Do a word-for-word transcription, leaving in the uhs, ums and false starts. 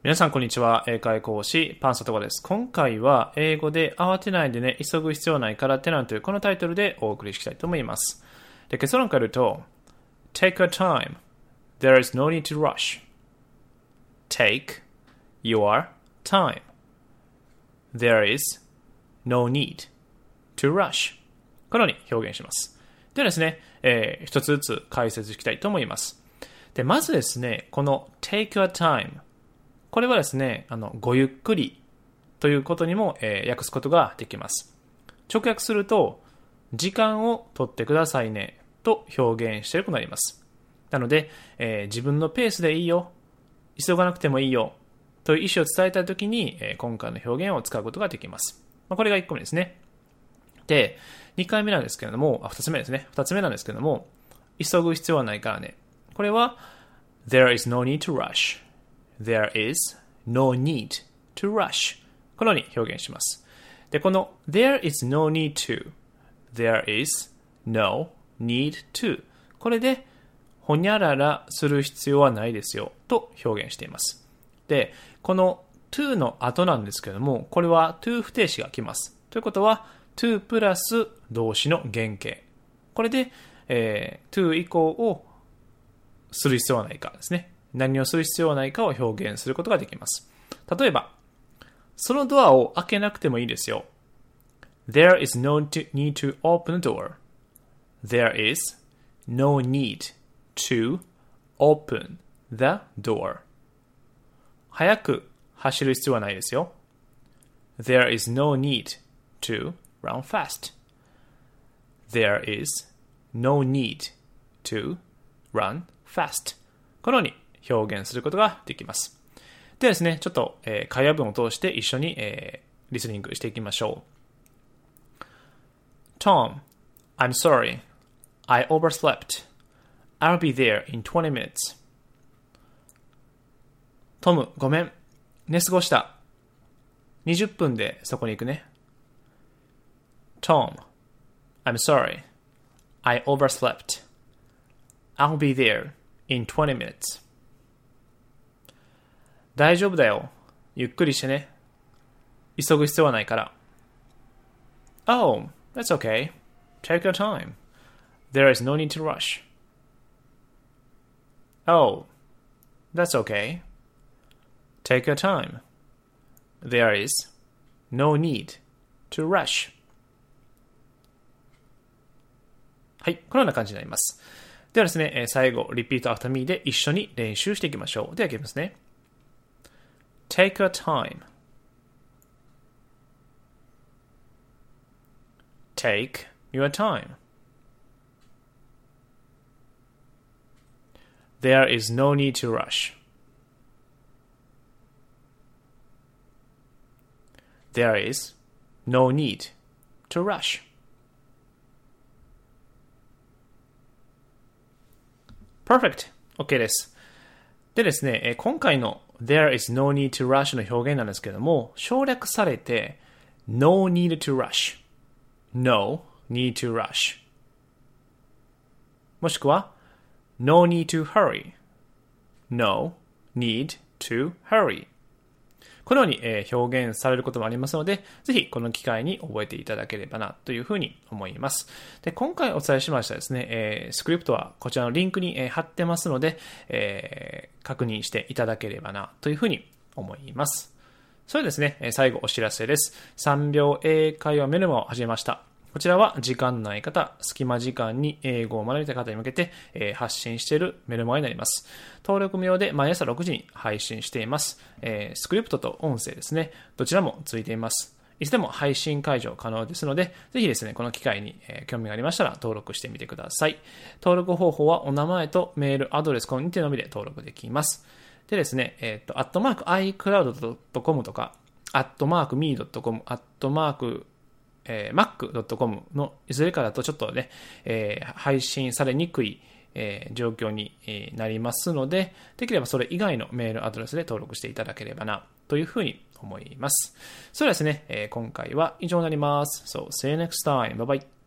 皆さんこんにちは。英会講師パンサトコです。今回は英語で慌てないでね、急ぐ必要ないからってなんというこのタイトルでお送りしたいと思います。で、結論から言うと Take your time. There is no need to rush. Take your time. There is no need to rush. このように表現します。ではですね、えー、一つずつ解説したいと思います。で、まずですね、この Take your timeこれはですね、あの、ごゆっくりということにも、えー、訳すことができます。直訳すると、時間を取ってくださいねと表現していることになります。なので、えー、自分のペースでいいよ、急がなくてもいいよという意思を伝えたいときに、えー、今回の表現を使うことができます。まあ、これがいっこめですね。で、にかいめなんですけれども、あ、ふたつめですね。ふたつめなんですけれども、急ぐ必要はないからね。これは、There is no need to rush.There is no need to rush. このように表現します。で、この There is no need to There is no need to これでほにゃららする必要はないですよと表現しています。で、この to の後なんですけども、これは to 不定詞が来ます。ということは to プラス動詞の原型。これで、えー、to 以降をする必要はないかですね。何をする必要はないかを表現することができます。例えば、そのドアを開けなくてもいいですよ。There is no need to open the door. There is no need to open the door. 早く走る必要はないですよ。There is no need to run fast. There is no need to run fast. このように表現することができます。ではですね、ちょっと、えー、会話文を通して一緒に、えー、リスニングしていきましょう。Tom, I'm sorry. I overslept. I'll be there in twenty minutes. トム、ごめん。寝過ごした。にじゅっぷんでそこに行くね。Tom, I'm sorry. I overslept. I'll be there in twenty minutes.大丈夫だよ。ゆっくりしてね。急ぐ必要はないから。Oh, that's okay. Take your time. There is no need to rush. Oh, that's okay. Take your time. There is no need to rush. はい、このような感じになります。ではですね、最後、repeat after me で一緒に練習していきましょう。では、いきますね。Take your time. Take your time. There is no need to rush. There is no need to rush. Perfect. OK です。でですね、今回のThere is no need to rush の表現なんですけども、省略されて no need to rush no need to rush もしくは no need to hurry no need to hurry このように、えー、表現されることもありますので、ぜひこの機会に覚えていただければなというふうに思います。で、今回お伝えしましたですね、えー、スクリプトはこちらのリンクに、えー、貼ってますので、えー、確認していただければなというふうに思います。それでですね、えー、最後お知らせです。さんびょう英会話メルマを始めました。こちらは時間ない方、隙間時間に英語を学びたい方に向けて、えー、発信しているメルマガになります。登録無料で毎朝ろくじに配信しています。えー、スクリプトと音声ですね。どちらもついています。いつでも配信解除可能ですので、ぜひですね、この機会に、えー、興味がありましたら登録してみてください。登録方法はお名前とメール、アドレス、このにてのみで登録できます。でですね、えっと、アットマーク アイクラウドドットコム とか、アットマーク ミードットコム、アットマークえー、マックドットコム のいずれかだとちょっとね、えー、配信されにくい、えー、状況になりますので、できればそれ以外のメールアドレスで登録していただければなというふうに思います。それではですね、えー、今回は以上になります。So, see you next time. Bye bye.